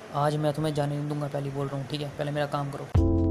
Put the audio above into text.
आज मैं तुम्हें जाने नहीं दूंगा, पहले ही बोल रहा हूँ, ठीक है? पहले मेरा काम करो।